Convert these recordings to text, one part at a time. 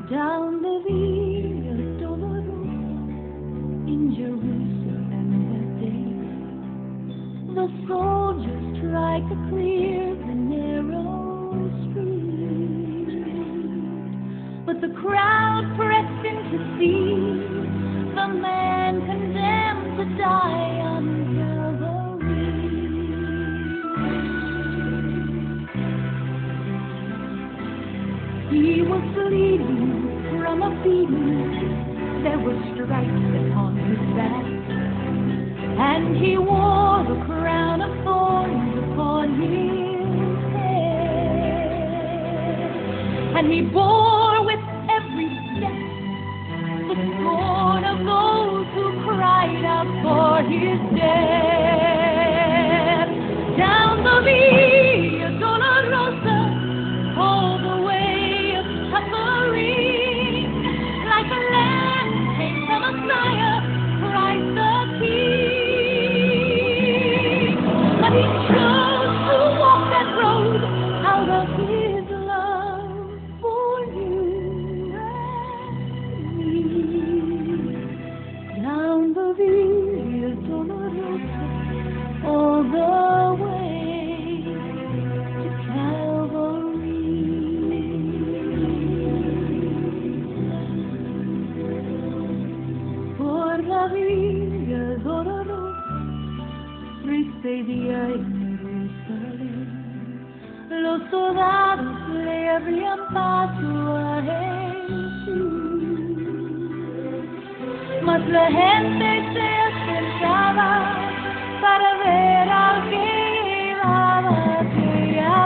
down the Via Dolorosa in Jerusalem that day. The soldiers tried to clear the narrow street, but the crowd pressed in to see the man condemned to die on Calvary. He was bleeding from a beating, there were stripes upon his back, and he wore the crown of thorns upon his head, and he bore with every step the scorn of those who cried out for his death. Down the Via Dolorosa, all the way of suffering, like a lamb came the Messiah, Christ the King. But he chose to walk that road out of his love for you and me. Down the Via Dolorosa, all the way to Calvary. Por la Via Dolorosa, triste día en Jerusalén, los soldados le abrían paso a Jesús, mas la gente se acercaba para ver al que llevaba aquella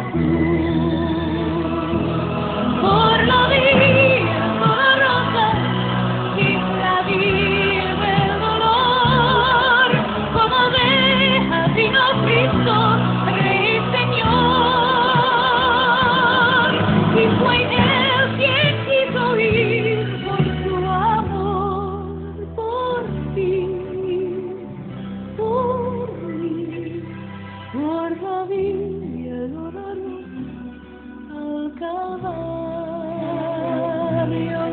cruz. Por la Via Dolorosa, Isla vive el dolor, como oveja vino Cristo, Rey Señor, y fue Él quien quiso ir por su amor, por ti, por mí, por la Via Dolorosa al Calvario.